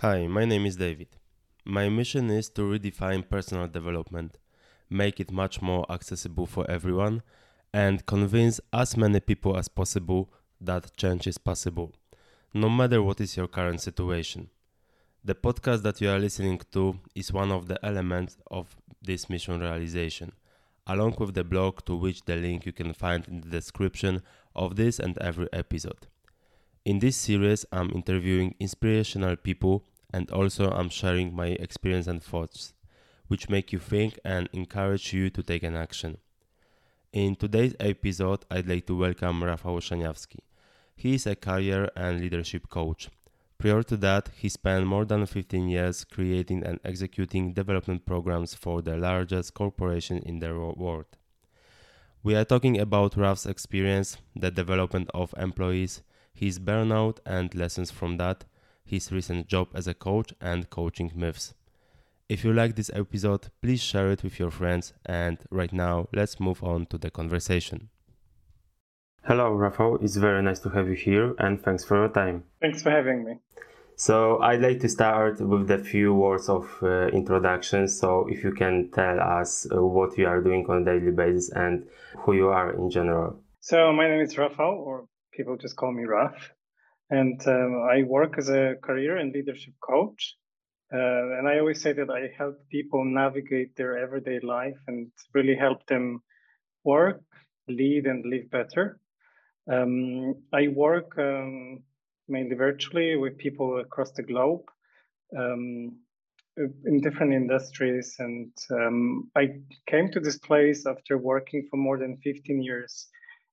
Hi, my name is David. My mission is to redefine personal development, make it much more accessible for everyone, and convince as many people as possible that change is possible, no matter what is your current situation. The podcast that you are listening to is one of the elements of this mission realization, along with the blog to which the link you can find in the description of this and every episode. In this series, I'm interviewing inspirational people and also I'm sharing my experience and thoughts, which make you think and encourage you to take an action. In today's episode, I'd like to welcome Rafał Szaniawski. He is a career and leadership coach. Prior to that, he spent more than 15 years creating and executing development programs for the largest corporation in the world. We are talking about Raf's experience, the development of employees, his burnout and lessons from that, his recent job as a coach, and coaching myths. If you like this episode, please share it with your friends. And right now, let's move on to the conversation. Hello, Rafał. It's very nice to have you here, and thanks for your time. Thanks for having me. So I'd like to start with a few words of introduction. So if you can tell us what you are doing on a daily basis and who you are in general. So my name is Rafał, or people just call me Raf. And I work as a career and leadership coach. And I always say that I help people navigate their everyday life and really help them work, lead, and live better. I work mainly virtually with people across the globe in different industries. And I came to this place after working for more than 15 years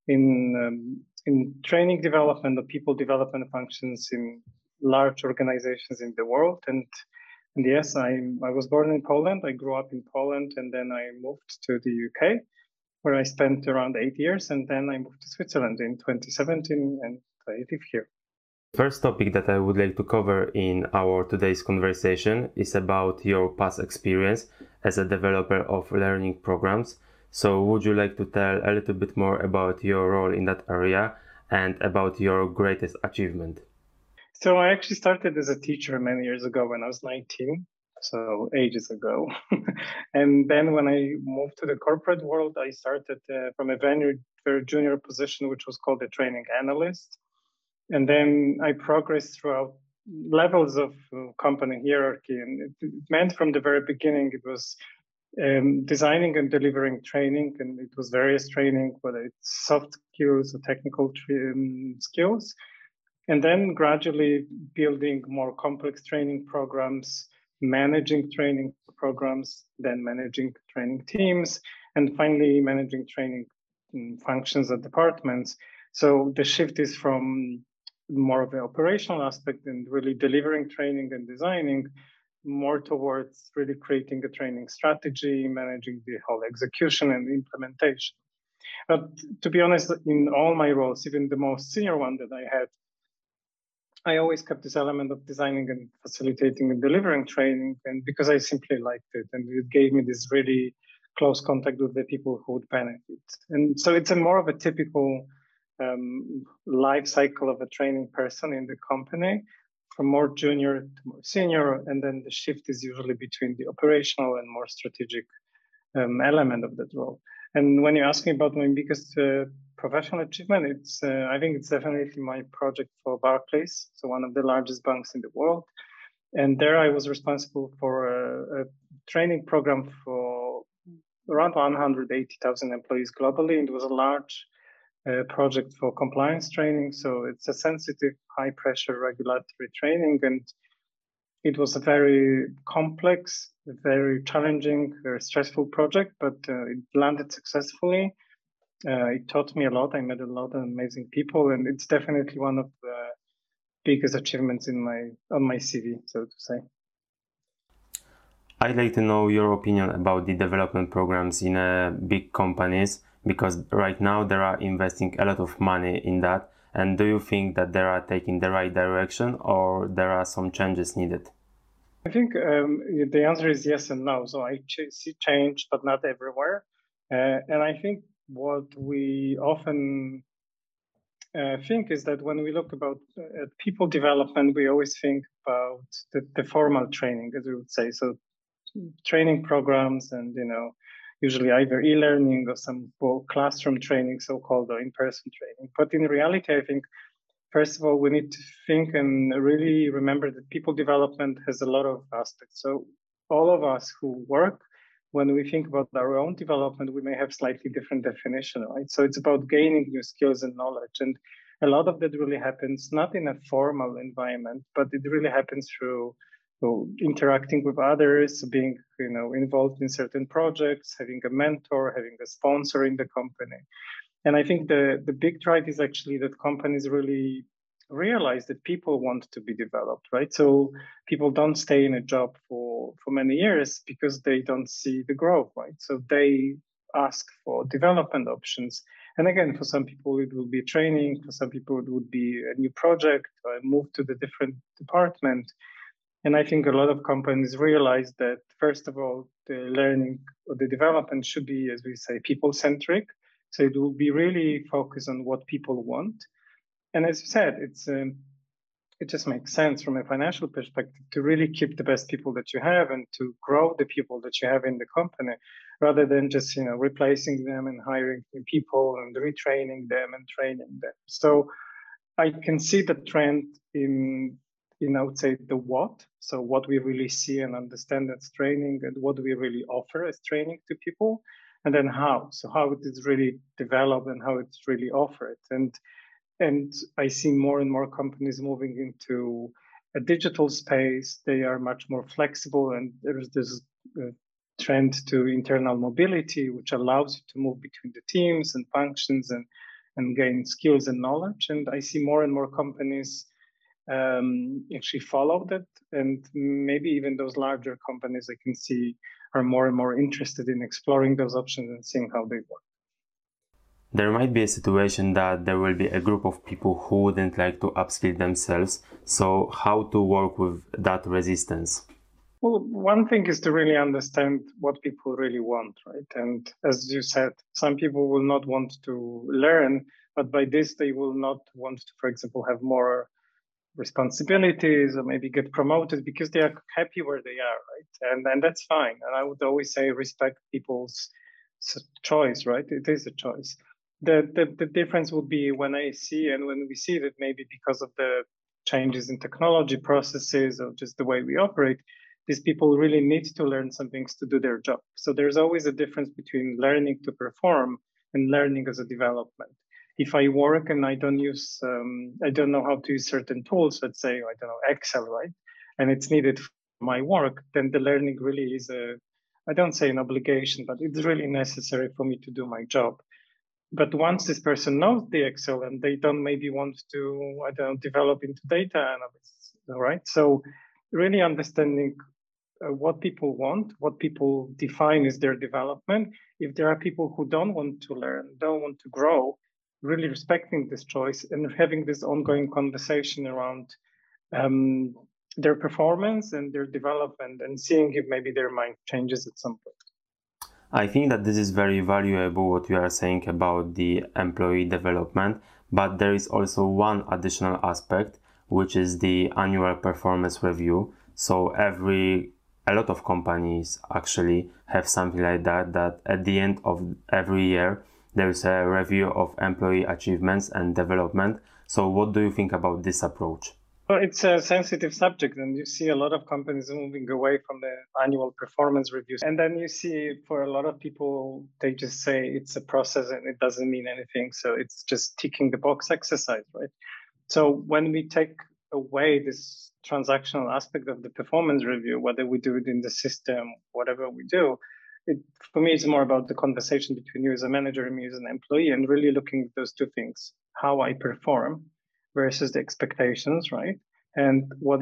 in training development or people development functions in large organizations in the world. And yes, I was born in Poland. I grew up in Poland, and then I moved to the UK, where I spent around 8 years, and then I moved to Switzerland in 2017, and I live here. First topic that I would like to cover in our today's conversation is about your past experience as a developer of learning programs. So would you like to tell a little bit more about your role in that area and about your greatest achievement? So I actually started as a teacher many years ago when I was 19, so ages ago. And then when I moved to the corporate world, I started from a very junior position, which was called a training analyst. And then I progressed throughout levels of company hierarchy. And it meant from the very beginning, it was designing and delivering training. And it was various training, whether it's soft skills or technical skills. And then gradually building more complex training programs, managing training programs, then managing training teams, and finally managing training functions and departments. So the shift is from more of an operational aspect and really delivering training and designing more towards really creating a training strategy, managing the whole execution and implementation. But to be honest, in all my roles, even the most senior one that I had, I always kept this element of designing and facilitating and delivering training, and because I simply liked it, and it gave me this really close contact with the people who would benefit. And so it's a more of a typical life cycle of a training person in the company, from more junior to more senior, and then the shift is usually between the operational and more strategic element of that role. And when you ask me about my biggest professional achievement, it's I think it's definitely my project for Barclays, so one of the largest banks in the world. And there I was responsible for a training program for around 180,000 employees globally. And it was a large project for compliance training. So it's a sensitive, high pressure regulatory training. And it was a very complex, very challenging, very stressful project, but it landed successfully. It taught me a lot. I met a lot of amazing people, and it's definitely one of the biggest achievements on my CV, so to say. I'd like to know your opinion about the development programs in big companies, because right now they are investing a lot of money in that. And do you think that they are taking the right direction, or there are some changes needed? I think the answer is yes and no. So I see change, but not everywhere. And I think what we often think is that when we look about people development, we always think about the formal training, as we would say. So training programs and, usually either e-learning or some classroom training, so-called, or in-person training. But in reality, I think, first of all, we need to think and really remember that people development has a lot of aspects. So all of us who work, when we think about our own development, we may have slightly different definition, right? So it's about gaining new skills and knowledge. And a lot of that really happens not in a formal environment, but it really happens through interacting with others, being involved in certain projects, having a mentor, having a sponsor in the company. And I think the big drive is actually that companies really realize that people want to be developed, right? So people don't stay in a job for many years because they don't see the growth, right? So they ask for development options. And again, for some people, it will be training. For some people, it would be a new project or a move to the different department. And I think a lot of companies realize that, first of all, the learning or the development should be, as we say, people-centric. So it will be really focused on what people want. And as you said, it just makes sense from a financial perspective to really keep the best people that you have and to grow the people that you have in the company, rather than just replacing them and hiring new people and retraining them and training them. So I can see the trend in I would say the what. So what we really see and understand as training, and what we really offer as training to people, and then how. So how it is really developed and how it's really offered. And I see more and more companies moving into a digital space. They are much more flexible, and there's this trend to internal mobility, which allows you to move between the teams and functions and gain skills and knowledge. And I see more and more companies actually follow that. And maybe even those larger companies I can see are more and more interested in exploring those options and seeing how they work. There might be a situation that there will be a group of people who wouldn't like to upskill themselves. So how to work with that resistance? Well, one thing is to really understand what people really want, right? And as you said, some people will not want to learn, but by this, they will not want to, for example, have more responsibilities or maybe get promoted because they are happy where they are, right? And that's fine. And I would always say respect people's choice, right? It is a choice. The difference will be when I see and when we see that maybe because of the changes in technology processes or just the way we operate, these people really need to learn some things to do their job. So there's always a difference between learning to perform and learning as a development. If I work and I don't know how to use certain tools, let's say, I don't know, Excel, right? And it's needed for my work, then the learning really is I don't say an obligation, but it's really necessary for me to do my job. But once this person knows the Excel and they don't maybe want to, I don't know, develop into data analysts, all right? So really understanding what people want, what people define as their development. If there are people who don't want to learn, don't want to grow, really respecting this choice and having this ongoing conversation around their performance and their development and seeing if maybe their mind changes at some point. I think that this is very valuable what you are saying about the employee development, but there is also one additional aspect, which is the annual performance review. So a lot of companies actually have something like that at the end of every year, there is a review of employee achievements and development. So what do you think about this approach? Well, it's a sensitive subject, and you see a lot of companies moving away from the annual performance reviews. And then you see for a lot of people, they just say it's a process and it doesn't mean anything. So it's just ticking the box exercise, right? So when we take away this transactional aspect of the performance review, whether we do it in the system, whatever we do, for me, it's more about the conversation between you as a manager and me as an employee, and really looking at those two things: how I perform versus the expectations, right? And what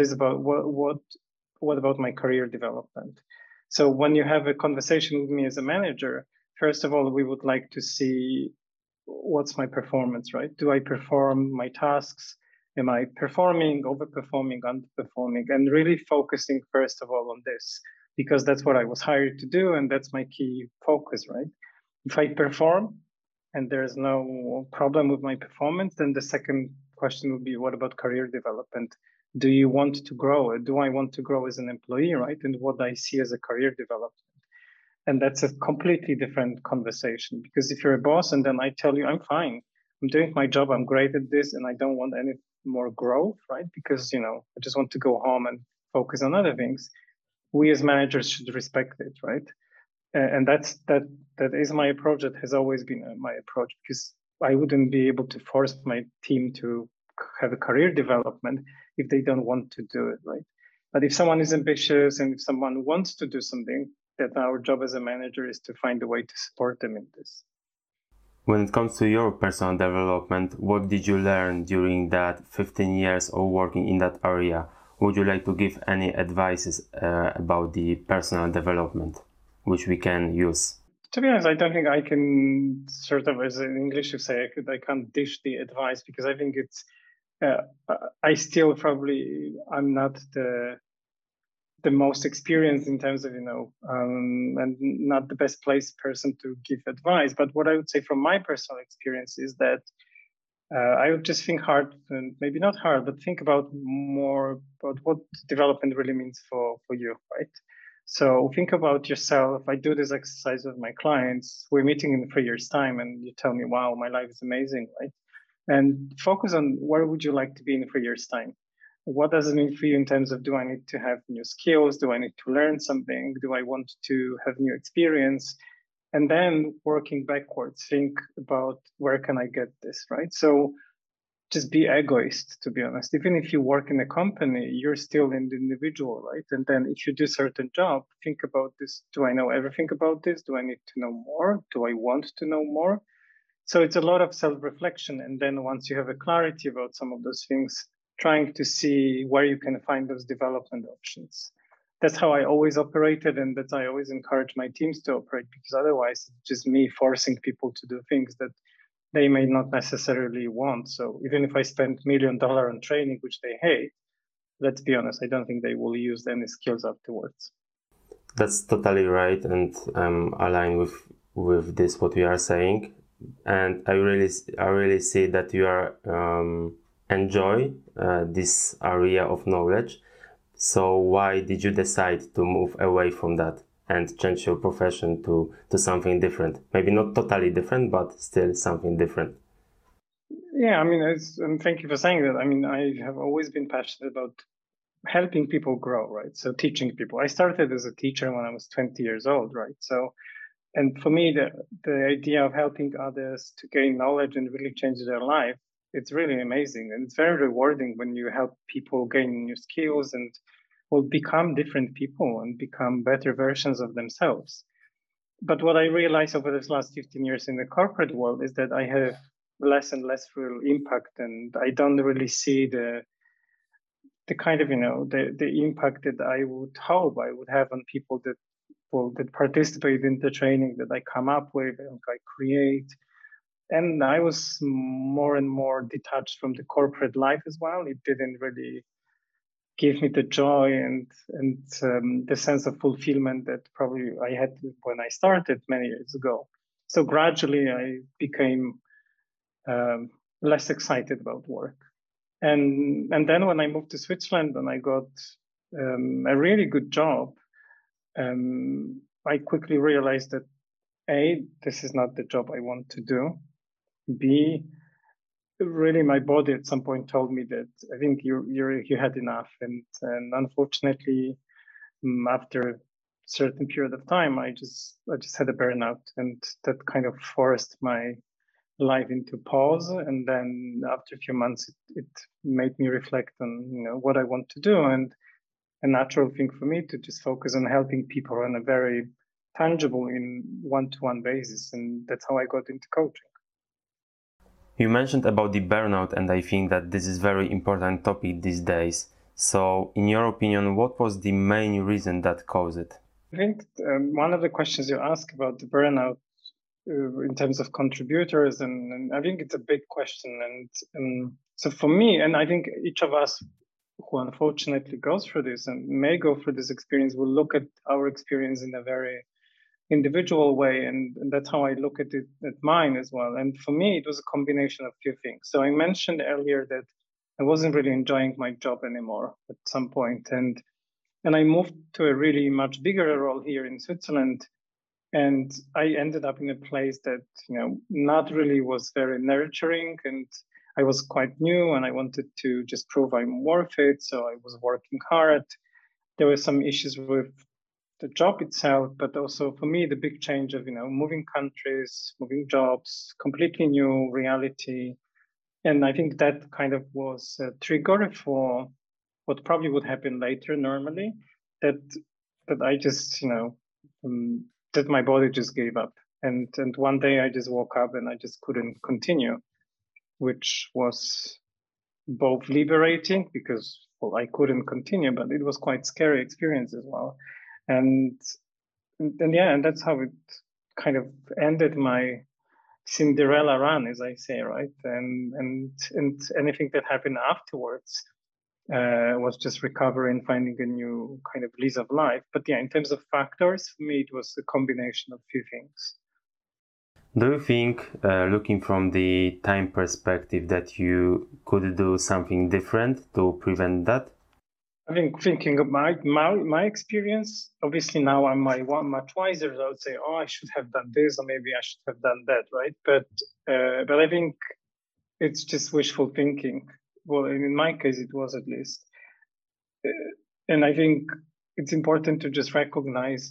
about my career development? So when you have a conversation with me as a manager, first of all, we would like to see what's my performance, right? Do I perform my tasks? Am I performing, overperforming, underperforming? And really focusing first of all on this, because that's what I was hired to do, and that's my key focus, right? If I perform, and there's no problem with my performance, then the second question would be, what about career development? Do you want to grow? Do I want to grow as an employee, right? And what I see as a career development. And that's a completely different conversation, because if you're a boss and then I tell you, I'm fine, I'm doing my job, I'm great at this, and I don't want any more growth, right? Because, I just want to go home and focus on other things. We as managers should respect it, right? And that is my approach. That has always been my approach, because I wouldn't be able to force my team to have a career development if they don't want to do it, right? But if someone is ambitious and if someone wants to do something, that our job as a manager is to find a way to support them in this. When it comes to your personal development, what did you learn during that 15 years of working in that area? Would you like to give any advices about the personal development, which we can use? To be honest, I don't think I can sort of, as in English you say, I can't dish the advice, because I think it's, I still probably, I'm not the most experienced in terms of, and not the best placed person to give advice. But what I would say from my personal experience is that I would just think hard, and maybe not hard, but think about more about what development really means for you, right? So think about yourself. I do this exercise with my clients. We're meeting in 3 years' time, and you tell me, wow, my life is amazing, right? And focus on where would you like to be in 3 years' time? What does it mean for you in terms of, do I need to have new skills? Do I need to learn something? Do I want to have new experience? And then working backwards, think about, where can I get this, right? So just be egoist, to be honest. Even if you work in a company, you're still an individual, right? And then if you do certain job, think about this. Do I know everything about this? Do I need to know more? Do I want to know more? So it's a lot of self-reflection. And then once you have a clarity about some of those things, trying to see where you can find those development options. That's how I always operated, and that's how I always encourage my teams to operate, because otherwise it's just me forcing people to do things that they may not necessarily want. So even if I spend $1 million on training, which they hate, let's be honest, I don't think they will use any skills afterwards. That's totally right, and aligned with this what we are saying. And I really see that you are enjoy this area of knowledge. So why did you decide to move away from that and change your profession to something different? Maybe not totally different, but still something different. Yeah, I mean, and thank you for saying that. I mean, I have always been passionate about helping people grow, right? So teaching people. I started as a teacher when I was 20 years old, right? So, and for me, the idea of helping others to gain knowledge and really change their life, it's really amazing. And it's very rewarding when you help people gain new skills and will become different people and become better versions of themselves. But what I realized over this last 15 years in the corporate world is that I have less and less real impact, and I don't really see the kind of, the impact that I would hope I would have on people that participate in the training that I come up with and I create. And I was more and more detached from the corporate life as well. It didn't really give me the joy and the sense of fulfillment that probably I had when I started many years ago. So gradually I became less excited about work. And then when I moved to Switzerland and I got a really good job, I quickly realized that A, this is not the job I want to do. B, really my body at some point told me that I think you had enough. And unfortunately, after a certain period of time, I just had a burnout, and that kind of forced my life into pause. And then after a few months, it made me reflect on what I want to do, and a natural thing for me to just focus on helping people on a very tangible in one-to-one basis. And that's how I got into coaching. You mentioned about the burnout, and I think that this is very important topic these days. So in your opinion, what was the main reason that caused it? I think one of the questions you ask about the burnout in terms of contributors, and I think it's a big question. And so for me, and I think each of us who unfortunately goes through this and may go through this experience will look at our experience in a very individual way, and that's how I look at it at mine as well. And for me, it was a combination of few things. So I mentioned earlier that I wasn't really enjoying my job anymore at some point, and I moved to a really much bigger role here in Switzerland, and I ended up in a place that not really was very nurturing, and I was quite new, and I wanted to just prove I'm worth it. So I was working hard. There were some issues with the job itself, but also for me, the big change of moving countries, moving jobs, completely new reality, and I think that kind of was a trigger for what probably would happen later normally. That I just that my body just gave up, and one day I just woke up and I just couldn't continue, which was both liberating because I couldn't continue, but it was quite scary experience as well. And yeah, and that's how it kind of ended my Cinderella run, as I say, right? And anything that happened afterwards was just recovering, finding a new kind of lease of life. But yeah, in terms of factors, for me, it was a combination of few things. Do you think, looking from the time perspective, that you could do something different to prevent that? I think thinking of my experience, obviously now I'm much wiser. So I would say, oh, I should have done this, or maybe I should have done that, right? But I think it's just wishful thinking. Well, in my case, it was at least. And I think it's important to just recognize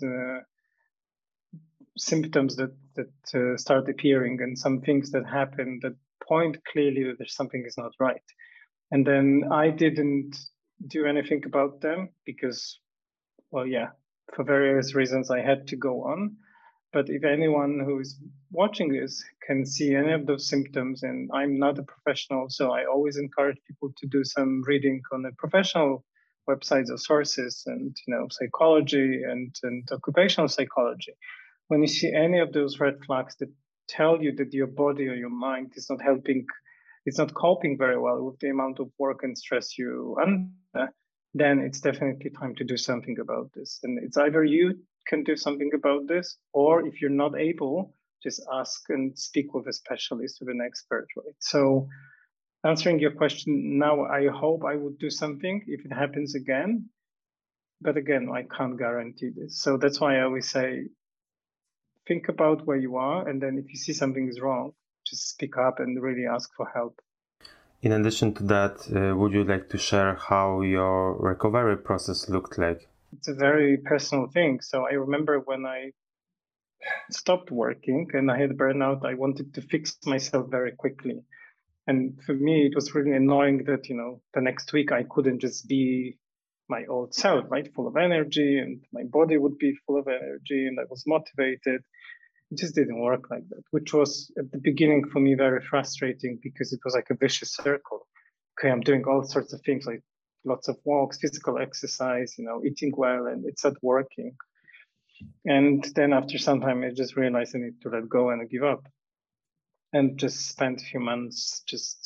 symptoms that start appearing and some things that happen that point clearly that there's something is not right. And then I didn't do anything about them because, well, yeah, for various reasons I had to go on. But if anyone who is watching this can see any of those symptoms, and I'm not a professional, so I always encourage people to do some reading on the professional websites or sources, and psychology and occupational psychology. When you see any of those red flags that tell you that your body or your mind is not helping, it's not coping very well with the amount of work and stress you under, then it's definitely time to do something about this. And it's either you can do something about this, or if you're not able, just ask and speak with a specialist, with an expert, right? So answering your question now, I hope I would do something if it happens again. But again, I can't guarantee this. So that's why I always say, think about where you are, and then if you see something is wrong, just speak up and really ask for help. In addition to that, would you like to share how your recovery process looked like? It's a very personal thing. So I remember when I stopped working and I had burnout, I wanted to fix myself very quickly. And for me, it was really annoying that, the next week I couldn't just be my old self, right? Full of energy, and my body would be full of energy, and I was motivated. It just didn't work like that, which was at the beginning for me very frustrating because it was like a vicious circle. Okay, I'm doing all sorts of things like lots of walks, physical exercise, eating well, and it's not working. And then after some time, I just realized I need to let go and give up, and just spent a few months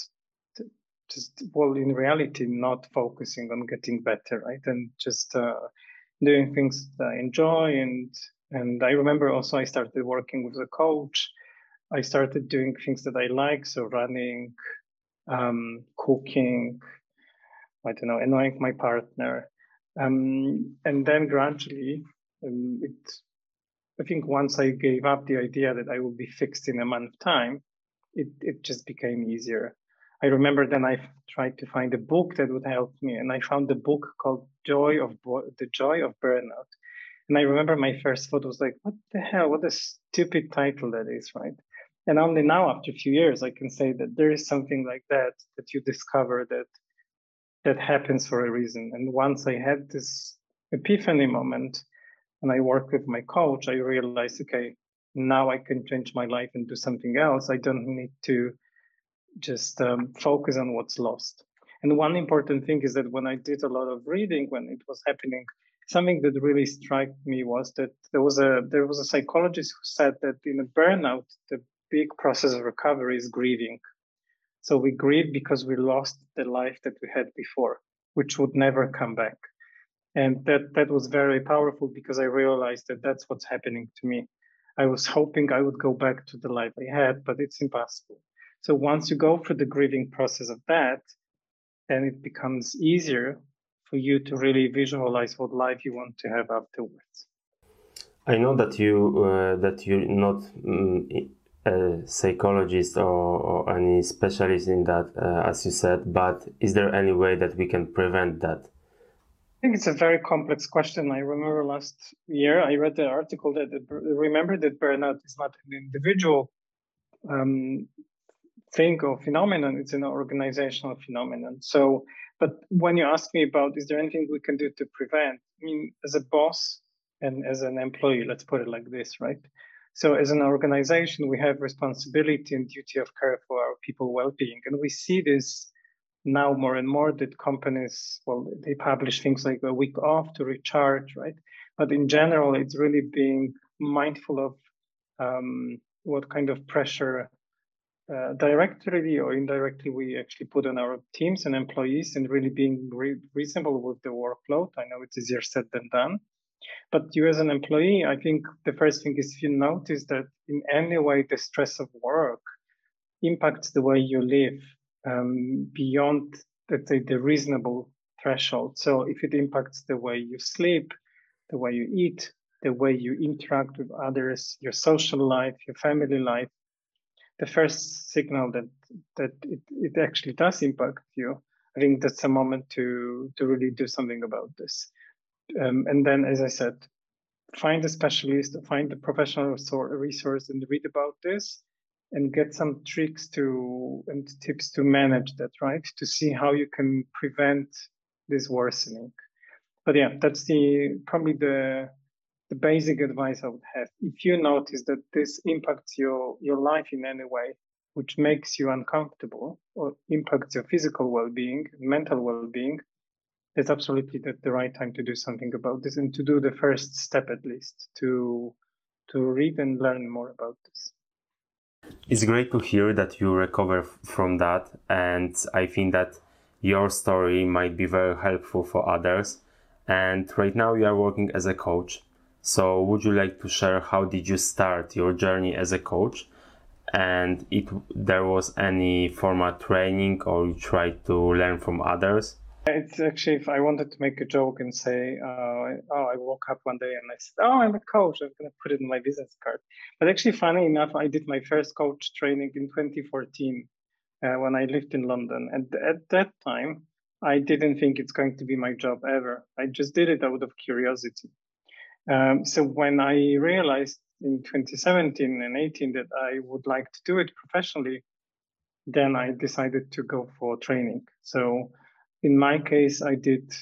well, in reality, not focusing on getting better, right? And just doing things that I enjoy. And I remember also I started working with a coach. I started doing things that I like, so running, cooking, I don't know, annoying my partner. And then gradually, I think once I gave up the idea that I will be fixed in a month's time, it just became easier. I remember then I tried to find a book that would help me, and I found a book called The Joy of Burnout. And I remember my first thought was like, what the hell? What a stupid title that is, right? And only now, after a few years, I can say that there is something like that you discover that happens for a reason. And once I had this epiphany moment, and I worked with my coach, I realized, okay, now I can change my life and do something else. I don't need to just focus on what's lost. And one important thing is that when I did a lot of reading when it was happening, something that really struck me was that there was a psychologist who said that in a burnout, the big process of recovery is grieving. So we grieve because we lost the life that we had before, which would never come back. And that was very powerful because I realized that that's what's happening to me. I was hoping I would go back to the life I had, but it's impossible. So once you go through the grieving process of that, then it becomes easier for you to really visualize what life you want to have afterwards. I know that you're not a psychologist or any specialist in that, as you said, but is there any way that we can prevent that? I think it's a very complex question. I remember last year I read the article that remember that burnout is not an individual thing or phenomenon; it's an organizational phenomenon. So, but when you ask me about is there anything we can do to prevent? I mean, as a boss and as an employee, let's put it like this, right? So, as an organization, we have responsibility and duty of care for our people well-being, and we see this now more and more that companies, well, they publish things like a week off to recharge, right? But in general, it's really being mindful of what kind of pressure directly or indirectly we actually put on our teams and employees, and really being reasonable with the workload. I know it's easier said than done. But you as an employee, I think the first thing is if you notice that in any way the stress of work impacts the way you live beyond, let's say, the reasonable threshold. So if it impacts the way you sleep, the way you eat, the way you interact with others, your social life, your family life, the first signal that it actually does impact you, I think that's a moment to really do something about this. And then, as I said, find a specialist, find a professional resource, and read about this, and get some tricks and tips to manage that, right? To see how you can prevent this worsening. But yeah, that's probably the basic advice I would have. If you notice that this impacts your life in any way, which makes you uncomfortable or impacts your physical well-being, mental well-being, it's absolutely the right time to do something about this, and to do the first step at least to read and learn more about this. It's great to hear that you recover from that, and I think that your story might be very helpful for others. And right now you are working as a coach. So would you like to share how did you start your journey as a coach? And if there was any formal training or you tried to learn from others? It's actually, if I wanted to make a joke and say, I woke up one day and I said, I'm a coach, I'm going to put it in my business card. But actually, funny enough, I did my first coach training in 2014 when I lived in London. And at that time, I didn't think it's going to be my job ever. I just did it out of curiosity. So when I realized in 2017 and 18 that I would like to do it professionally, then I decided to go for training. So in my case, I did,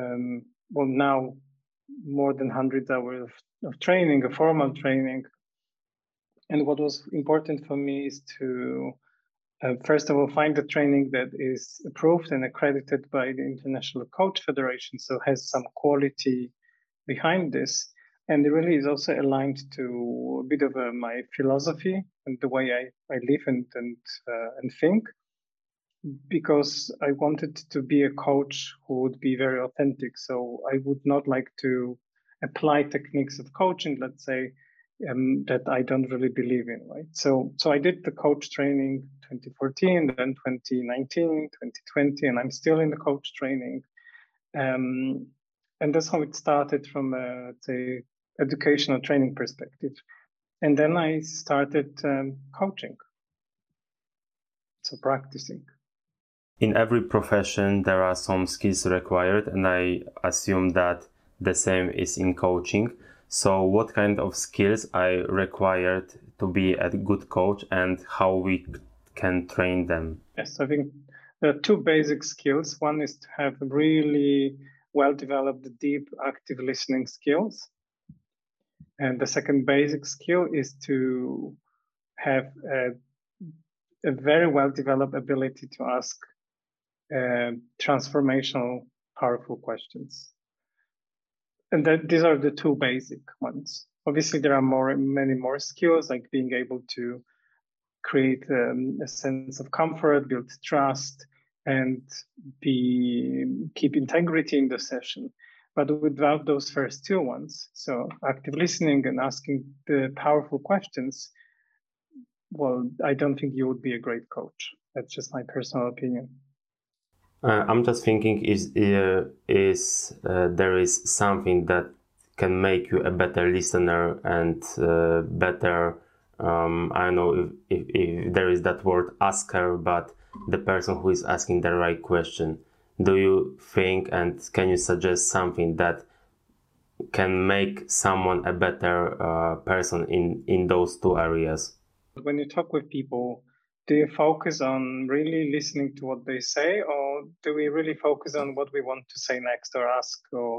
now more than 100 hours of training, a formal training. And what was important for me is to, first of all, find a training that is approved and accredited by the International Coach Federation, so has some quality behind this. And it really is also aligned to a bit of my philosophy and the way I live and think, because I wanted to be a coach who would be very authentic. So I would not like to apply techniques of coaching, let's say, that I don't really believe in, right? So I did the coach training 2014, then 2019, 2020, and I'm still in the coach training. And that's how it started from a, let's say, educational training perspective. And then I started coaching, so practicing. In every profession, there are some skills required, and I assume that the same is in coaching. So what kind of skills are required to be a good coach, and how we can train them? Yes, I think there are two basic skills. One is to have really well-developed, deep, active listening skills. And the second basic skill is to have a very well-developed ability to ask transformational, powerful questions. And these are the two basic ones. Obviously, there are many more skills, like being able to create a sense of comfort, build trust, and keep integrity in the session. But without those first two ones, so active listening and asking the powerful questions, well, I don't think you would be a great coach. That's just my personal opinion. I'm just thinking, is there is something that can make you a better listener and better, I don't know if there is that word asker, but the person who is asking the right question. Do you think, and can you suggest something that can make someone a better person in those two areas? When you talk with people, do you focus on really listening to what they say, or do we really focus on what we want to say next or ask?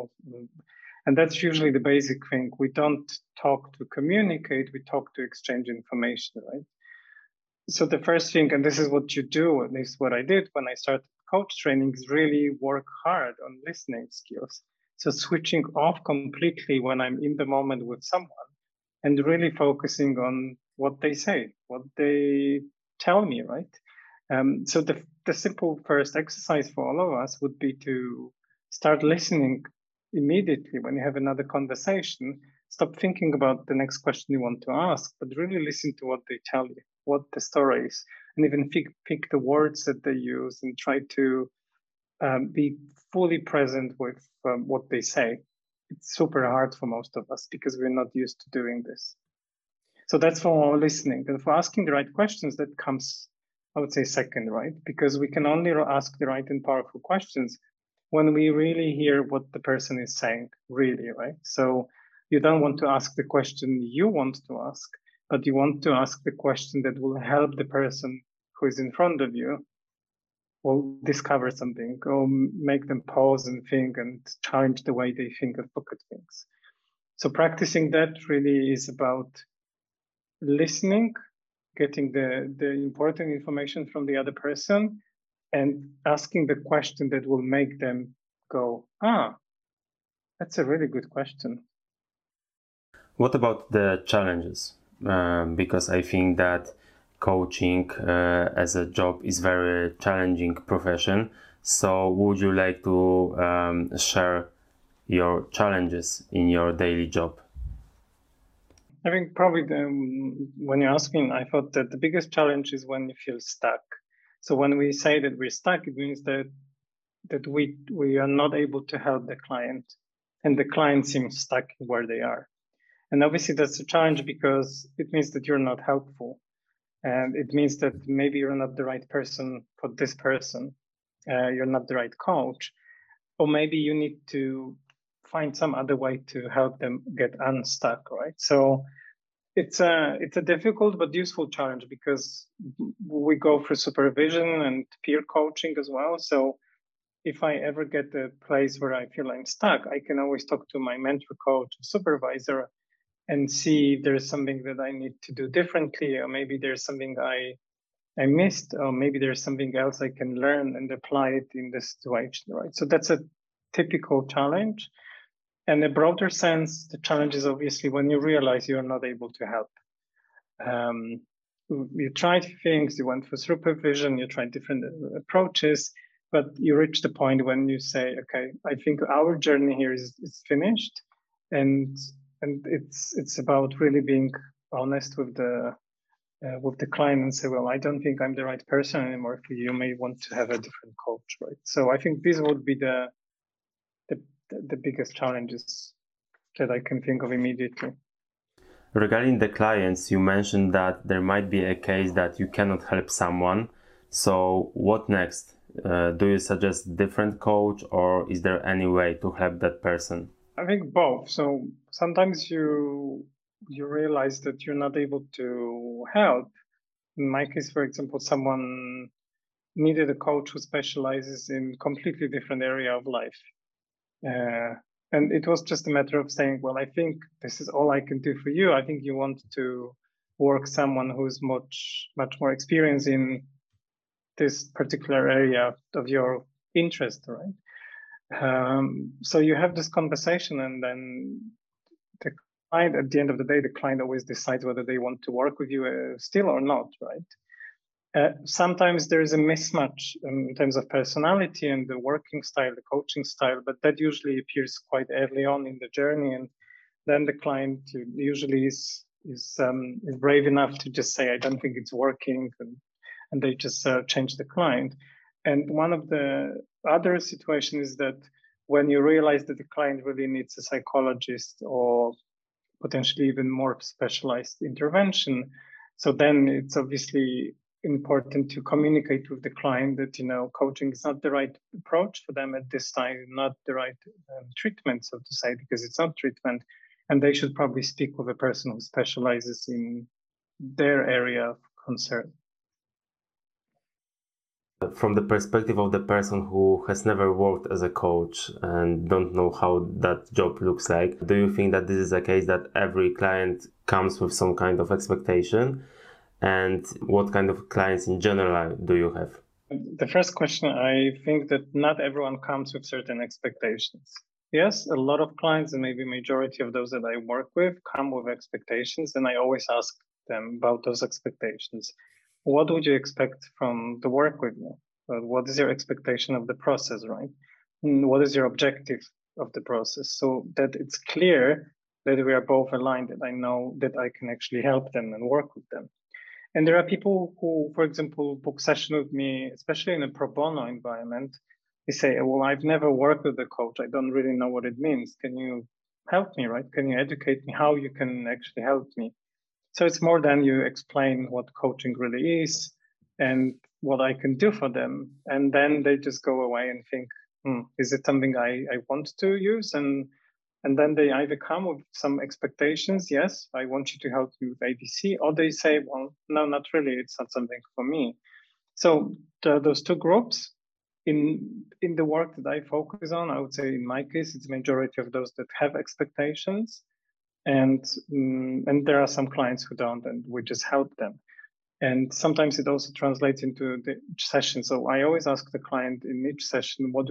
And that's usually the basic thing. We don't talk to communicate, we talk to exchange information, right? So the first thing, and this is what you do, at least what I did when I started coach training, is really work hard on listening skills. So switching off completely when I'm in the moment with someone and really focusing on what they say, what they tell me, right? So the simple first exercise for all of us would be to start listening immediately when you have another conversation. Stop thinking about the next question you want to ask, but really listen to what they tell you, what the story is, and even pick the words that they use and try to be fully present with what they say. It's super hard for most of us because we're not used to doing this. So that's for listening. And for asking the right questions, that comes, I would say, second, right? Because we can only ask the right and powerful questions when we really hear what the person is saying, really, right? So you don't want to ask the question you want to ask, but you want to ask the question that will help the person who is in front of you will discover something or make them pause and think and challenge the way they think and look at things. So practicing that really is about listening, getting the important information from the other person, and asking the question that will make them go, that's a really good question. What about the challenges? Because I think that coaching as a job is very challenging profession. So would you like to share your challenges in your daily job? I think probably when you ask me, I thought that the biggest challenge is when you feel stuck. So when we say that we're stuck, it means that we are not able to help the client, and the client seems stuck where they are. And obviously that's a challenge because it means that you're not helpful, and it means that maybe you're not the right person for this person. You're not the right coach, or maybe you need to find some other way to help them get unstuck, right? So it's a difficult but useful challenge because we go through supervision and peer coaching as well. So if I ever get a place where I feel I'm stuck, I can always talk to my mentor, coach, supervisor, and see if there's something that I need to do differently, or maybe there's something I missed, or maybe there's something else I can learn and apply it in this situation, right? So that's a typical challenge. And in a broader sense, the challenge is obviously when you realize you're not able to help. You tried things, you went for supervision, you tried different approaches, but you reach the point when you say, okay, I think our journey here is finished. And it's about really being honest with the client and say, well, I don't think I'm the right person anymore for you. You may want to have a different coach, right? So I think these would be the biggest challenges that I can think of immediately. Regarding the clients, you mentioned that there might be a case that you cannot help someone. So what next? Do you suggest different coach, or is there any way to help that person? I think both. So sometimes you realize that you're not able to help. In my case, for example, someone needed a coach who specializes in completely different area of life. And it was just a matter of saying, well, I think this is all I can do for you. I think you want to work someone who's much more experienced in this particular area of your interest, right? So you have this conversation, and then the client, at the end of the day, the client always decides whether they want to work with you still or not, right? Sometimes there is a mismatch in terms of personality and the working style, the coaching style, but that usually appears quite early on in the journey, and then the client usually is brave enough to just say, "I don't think it's working," and they just change the client. And one of the other situations is that when you realize that the client really needs a psychologist or potentially even more specialized intervention, so then it's obviously important to communicate with the client that coaching is not the right approach for them at this time, not the right treatment, so to say, because it's not treatment, and they should probably speak with a person who specializes in their area of concern. From the perspective of the person who has never worked as a coach and don't know how that job looks like, do you think that this is a case that every client comes with some kind of expectation? And what kind of clients in general do you have? The first question, I think that not everyone comes with certain expectations. Yes, a lot of clients, and maybe majority of those that I work with, come with expectations, and I always ask them about those expectations. What would you expect from the work with me? What is your expectation of the process, right? What is your objective of the process? So that it's clear that we are both aligned, that I know that I can actually help them and work with them. And there are people who, for example, book session with me, especially in a pro bono environment. They say, "Well, I've never worked with a coach. I don't really know what it means. Can you help me, right? Can you educate me how you can actually help me?" So it's more than you explain what coaching really is and what I can do for them. And then they just go away and think, is it something I want to use? And then they either come with some expectations. Yes, I want you to help me with ABC. Or they say, well, no, not really. It's not something for me. So those two groups in the work that I focus on, I would say in my case, it's the majority of those that have expectations. And there are some clients who don't, and we just help them. And sometimes it also translates into the session. So I always ask the client in each session, what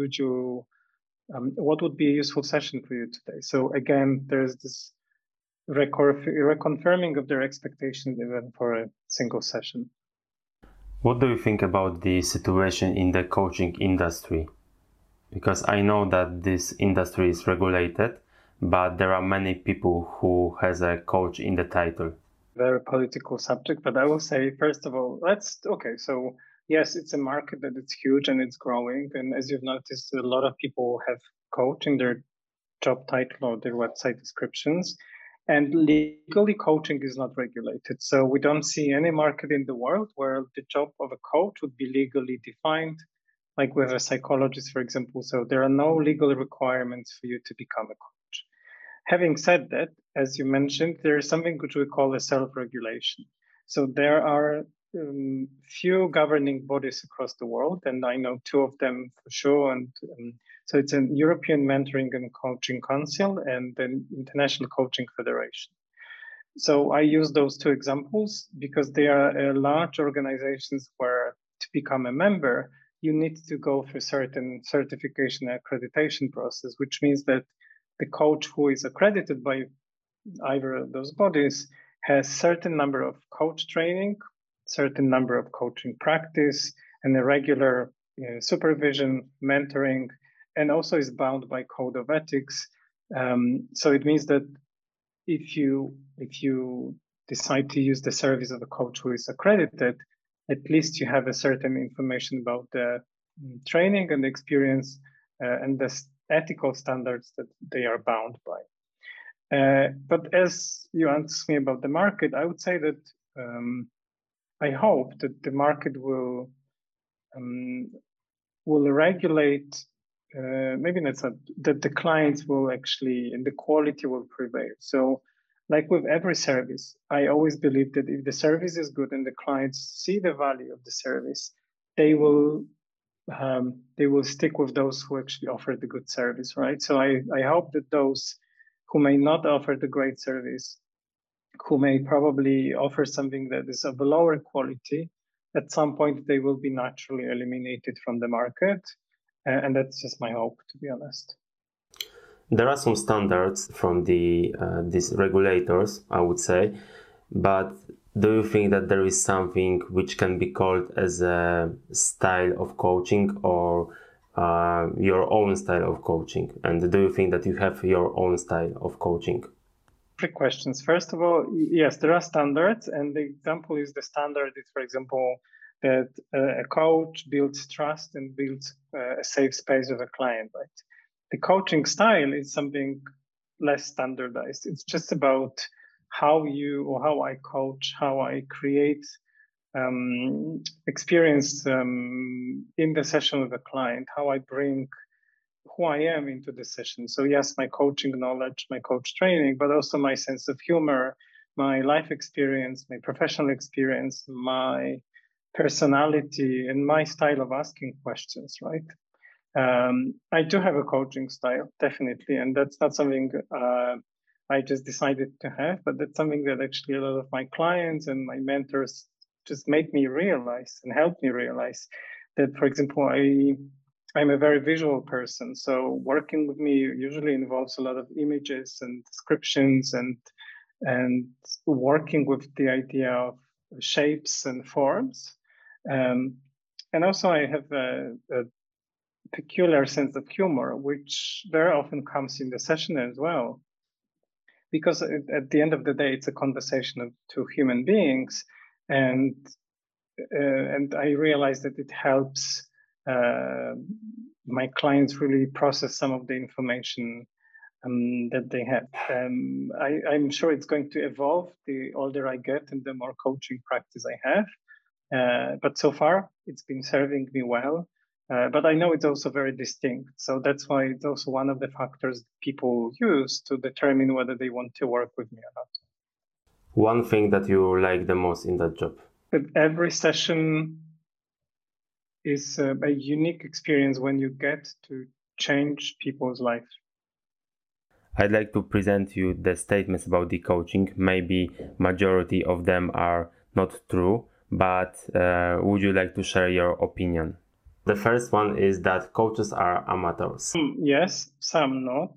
would be a useful session for you today? So again, there's this reconfirming of their expectations even for a single session. What do you think about the situation in the coaching industry? Because I know that this industry is regulated, but there are many people who has a coach in the title. Very political subject, but I will say, first of all, so yes, it's a market that it's huge and it's growing. And as you've noticed, a lot of people have coach in their job title or their website descriptions. And legally, coaching is not regulated. So we don't see any market in the world where the job of a coach would be legally defined, like with a psychologist, for example. So there are no legal requirements for you to become a coach. Having said that, as you mentioned, there is something which we call a self-regulation. So there are few governing bodies across the world, and I know two of them for sure. And so it's an European Mentoring and Coaching Council and the International Coaching Federation. So I use those two examples because they are large organizations where to become a member, you need to go through certain certification accreditation process, which means that the coach who is accredited by either of those bodies has certain number of coach training, certain number of coaching practice, and a regular supervision, mentoring, and also is bound by code of ethics. So it means that if you decide to use the service of a coach who is accredited, at least you have a certain information about the training and the experience and the ethical standards that they are bound by. But as you asked me about the market, I would say that I hope that the market will regulate. Maybe that's not that the clients will actually and the quality will prevail. So, like with every service, I always believe that if the service is good and the clients see the value of the service, they will stick with those who actually offer the good service, right? So I hope that those who may not offer the great service, who may probably offer something that is of a lower quality, at some point they will be naturally eliminated from the market. And that's just my hope, to be honest. There are some standards from these regulators, I would say, but Do you think that there is something which can be called as a style of coaching or your own style of coaching? And do you think that you have your own style of coaching? Three questions. First of all, yes, there are standards, and the example is the standard is, for example, that a coach builds trust and builds a safe space with a client, right? The coaching style is something less standardized. It's just about how you or how I coach, how I create experience in the session with a client, how I bring who I am into the session. So yes, my coaching knowledge, my coach training, but also my sense of humor, my life experience, my professional experience, my personality, and my style of asking questions, right? I do have a coaching style, definitely, and that's not something I just decided to have, but that's something that actually a lot of my clients and my mentors just made me realize and helped me realize that, for example, I'm a very visual person, so working with me usually involves a lot of images and descriptions and working with the idea of shapes and forms. And also, I have a peculiar sense of humor, which very often comes in the session as well. Because at the end of the day, it's a conversation of two human beings, and I realize that it helps my clients really process some of the information that they have. I'm sure it's going to evolve the older I get and the more coaching practice I have. But so far, it's been serving me well. But I know it's also very distinct. So that's why it's also one of the factors people use to determine whether they want to work with me or not. One thing that you like the most in that job? That every session is a unique experience when you get to change people's life. I'd like to present you the statements about the coaching. Maybe majority of them are not true, but would you like to share your opinion? The first one is that coaches are amateurs. Yes, some not.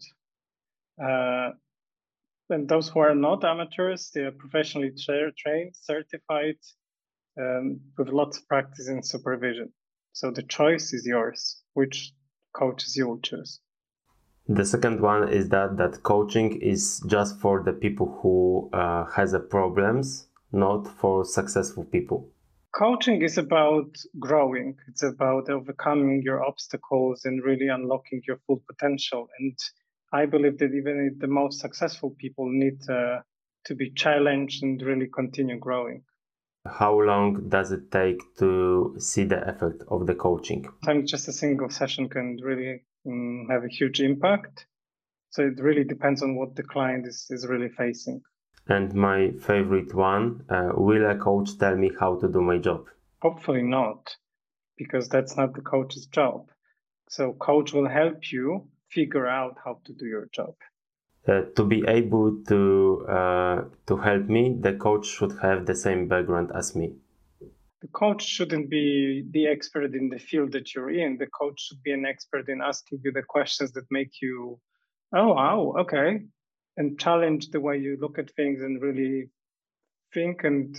And those who are not amateurs, they are professionally trained, certified, with lots of practice and supervision. So the choice is yours, which coaches you will choose. The second one is that coaching is just for the people who has a problems, not for successful people. Coaching is about growing. It's about overcoming your obstacles and really unlocking your full potential. And I believe that even the most successful people need to be challenged and really continue growing. How long does it take to see the effect of the coaching? Sometimes just a single session can really have a huge impact. So it really depends on what the client is really facing. And my favorite one, will a coach tell me how to do my job? Hopefully not, because that's not the coach's job. So coach will help you figure out how to do your job. To be able to help me, the coach should have the same background as me. The coach shouldn't be the expert in the field that you're in. The coach should be an expert in asking you the questions that make you, oh, wow, okay, and challenge the way you look at things and really think and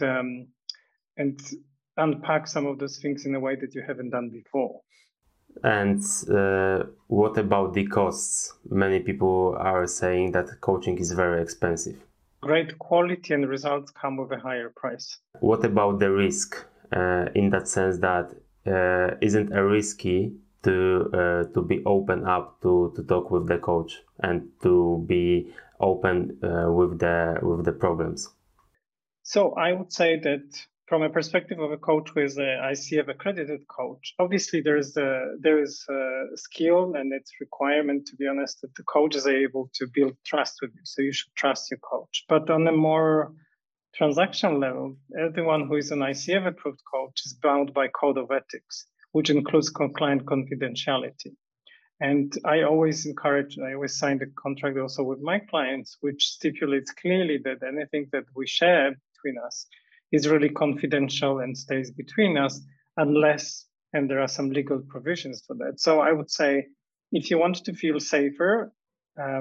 unpack some of those things in a way that you haven't done before. And what about the costs? Many people are saying that coaching is very expensive. Great quality and results come with a higher price. What about the risk? In that sense, that isn't it risky to be open up to talk with the coach and to be open with the problems? So I would say that from a perspective of a coach who is a ICF accredited coach, obviously there is a skill and its requirement, to be honest, that the coach is able to build trust with you. So you should trust your coach. But on a more transactional level, everyone who is an ICF approved coach is bound by code of ethics, which includes client confidentiality. And I always sign the contract also with my clients, which stipulates clearly that anything that we share between us is really confidential and stays between us unless, and there are some legal provisions for that. So I would say if you want to feel safer,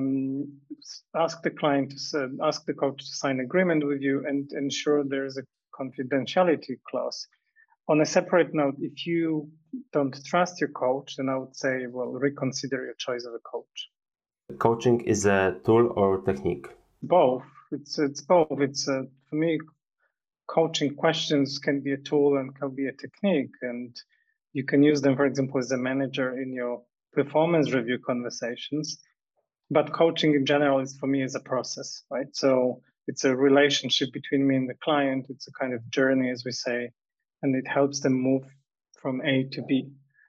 ask the coach to sign agreement with you and ensure there is a confidentiality clause. On a separate note, if you don't trust your coach, then I would say, well, reconsider your choice of a coach. Coaching is a tool or technique? Both. It's both. For me, coaching questions can be a tool and can be a technique, and you can use them, for example, as a manager in your performance review conversations. But coaching in general is, for me, is a process, right? So it's a relationship between me and the client. It's a kind of journey, as we say, and it helps them move from A to B.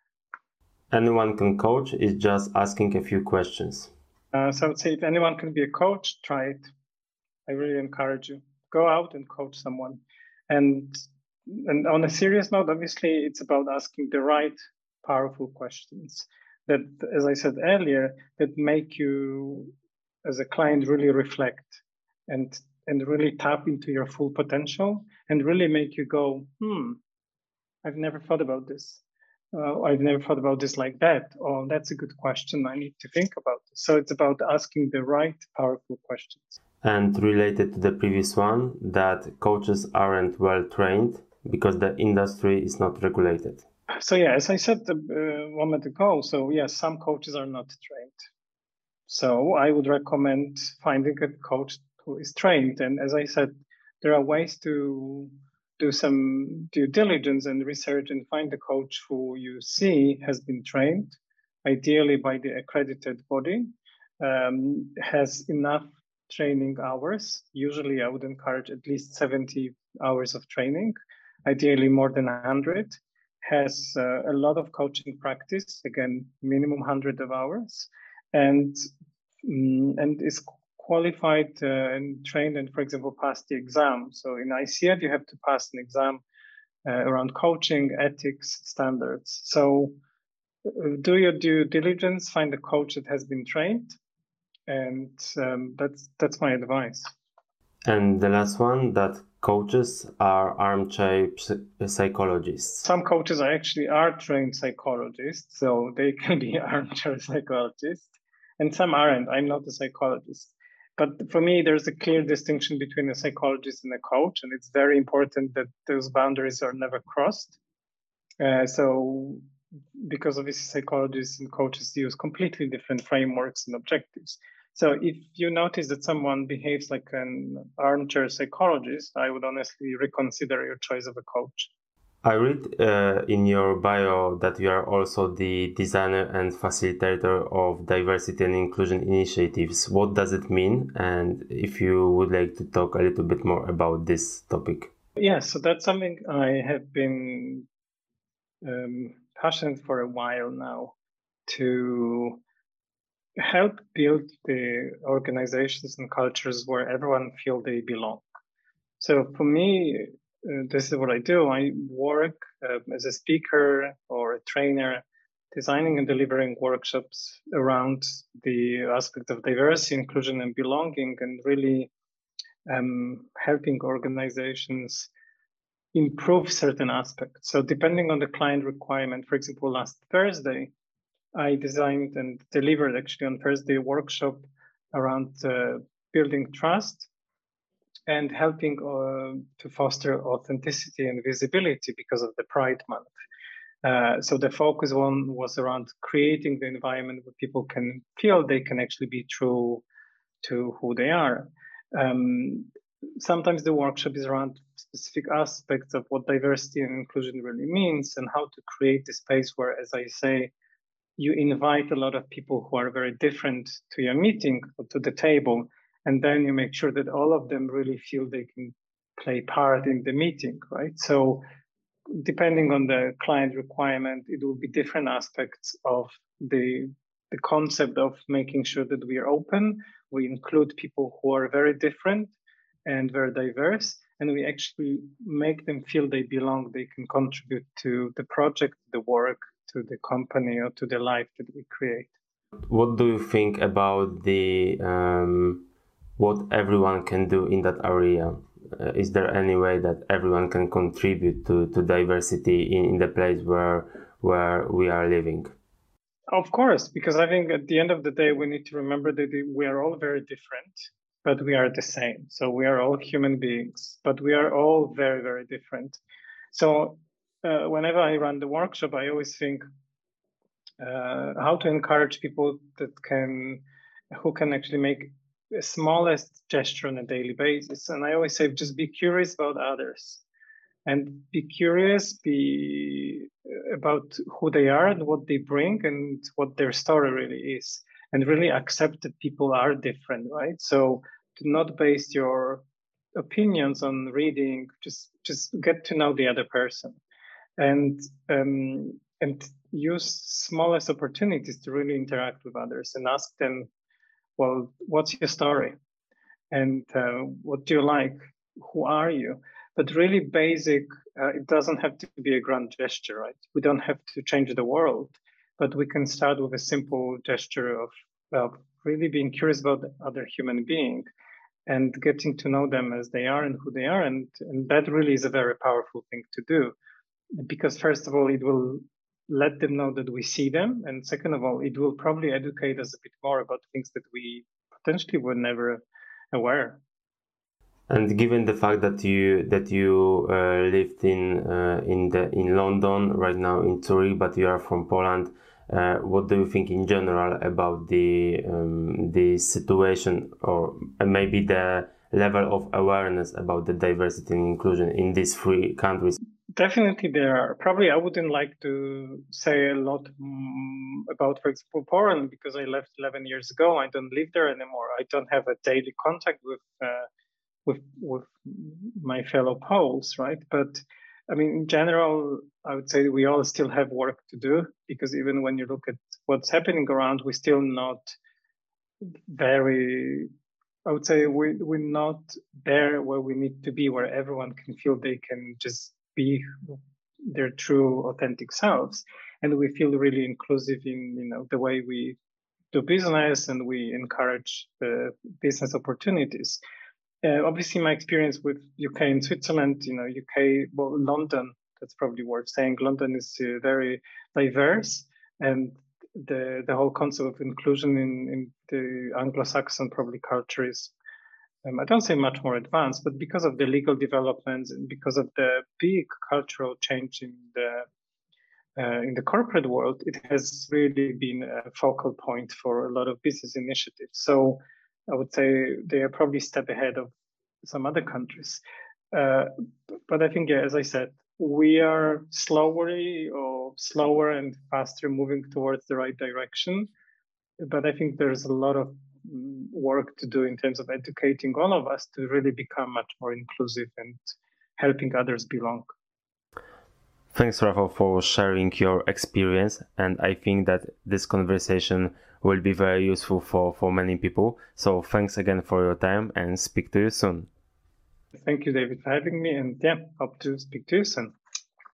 Anyone can coach, is just asking a few questions. So I would say if anyone can be a coach, try it. I really encourage you. Go out and coach someone. And on a serious note, obviously, it's about asking the right, powerful questions that, as I said earlier, that make you, as a client, really reflect and really tap into your full potential and really make you go, I've never thought about this. I've never thought about this like that. Oh, that's a good question. I need to think about this. So it's about asking the right, powerful questions. And related to the previous one, that coaches aren't well trained because the industry is not regulated. So yeah, as I said a moment ago, so yes, some coaches are not trained. So I would recommend finding a coach who is trained. And as I said, there are ways to do some due diligence and research and find a coach who you see has been trained, ideally by the accredited body, has enough training hours. Usually I would encourage at least 70 hours of training, ideally more than 100, has a lot of coaching practice, again, minimum 100 of hours, and is qualified and trained and, for example, passed the exam. So in ICF, you have to pass an exam around coaching, ethics, standards. So do your due diligence, find a coach that has been trained, and that's my advice. And the last one, that coaches are armchair psychologists. Some coaches are trained psychologists, so they can be armchair psychologists, and some aren't. I'm not a psychologist. But for me, there's a clear distinction between a psychologist and a coach, and it's very important that those boundaries are never crossed. So, because obviously psychologists and coaches use completely different frameworks and objectives. So if you notice that someone behaves like an armchair psychologist, I would honestly reconsider your choice of a coach. I read in your bio that you are also the designer and facilitator of diversity and inclusion initiatives. What does it mean? And if you would like to talk a little bit more about this topic. Yeah, so that's something I have been passionate for a while now, to help build the organizations and cultures where everyone feels they belong. So for me, this is what I do. I work as a speaker or a trainer, designing and delivering workshops around the aspect of diversity, inclusion, and belonging, and really helping organizations improve certain aspects. So depending on the client requirement, for example, last Thursday, I designed and delivered actually on Thursday a workshop around building trust and helping to foster authenticity and visibility because of the Pride Month. So the focus one was around creating the environment where people can feel they can actually be true to who they are. Sometimes the workshop is around specific aspects of what diversity and inclusion really means and how to create the space where, as I say, you invite a lot of people who are very different to your meeting or to the table, and then you make sure that all of them really feel they can play part in the meeting, right? So depending on the client requirement, it will be different aspects of the concept of making sure that we are open, we include people who are very different and very diverse, and we actually make them feel they belong, they can contribute to the project, the work, to the company, or to the life that we create. What do you think about the what everyone can do in that area? Is there any way that everyone can contribute to diversity in the place where we are living? Of course, because I think at the end of the day, we need to remember that we are all very different. but we are the same. So we are all human beings, but we are all very, very different. So whenever I run the workshop, I always think how to encourage people who can actually make the smallest gesture on a daily basis. And I always say, just be curious about others, and be curious, be about who they are and what they bring and what their story really is, and really accept that people are different, right? So to not base your opinions on reading, just get to know the other person, and use smallest opportunities to really interact with others and ask them, well, what's your story, and what do you like, who are you? But really basic. It doesn't have to be a grand gesture, right? We don't have to change the world, but we can start with a simple gesture of really being curious about the other human being and getting to know them as they are and who they are, and that really is a very powerful thing to do, because first of all, it will let them know that we see them, and second of all, it will probably educate us a bit more about things that we potentially were never aware. And given the fact that you lived in London, right now in Zurich, but you are from Poland, what do you think in general about the situation, or maybe the level of awareness about the diversity and inclusion in these three countries? Definitely there are. Probably I wouldn't like to say a lot about, for example, Poland, because I left 11 years ago. I don't live there anymore. I don't have a daily contact with my fellow Poles, right? But I mean, in general, I would say we all still have work to do, because even when you look at what's happening around, we're still not very, I would say we're not there where we need to be, where everyone can feel they can just be their true authentic selves, and we feel really inclusive in the way we do business, and we encourage business opportunities. Obviously, my experience with UK and Switzerland, UK, well, London, that's probably worth saying. London is very diverse, and the whole concept of inclusion in the Anglo-Saxon probably culture is, I don't say much more advanced, but because of the legal developments and because of the big cultural change in the corporate world, it has really been a focal point for a lot of business initiatives. So I would say they are probably a step ahead of some other countries. But I think, yeah, as I said, we are slower and faster moving towards the right direction. But I think there's a lot of work to do in terms of educating all of us to really become much more inclusive and helping others belong. Thanks, Rafał, for sharing your experience, and I think that this conversation will be very useful for many people. So thanks again for your time, and speak to you soon. Thank you, David, for having me, and yeah, hope to speak to you soon.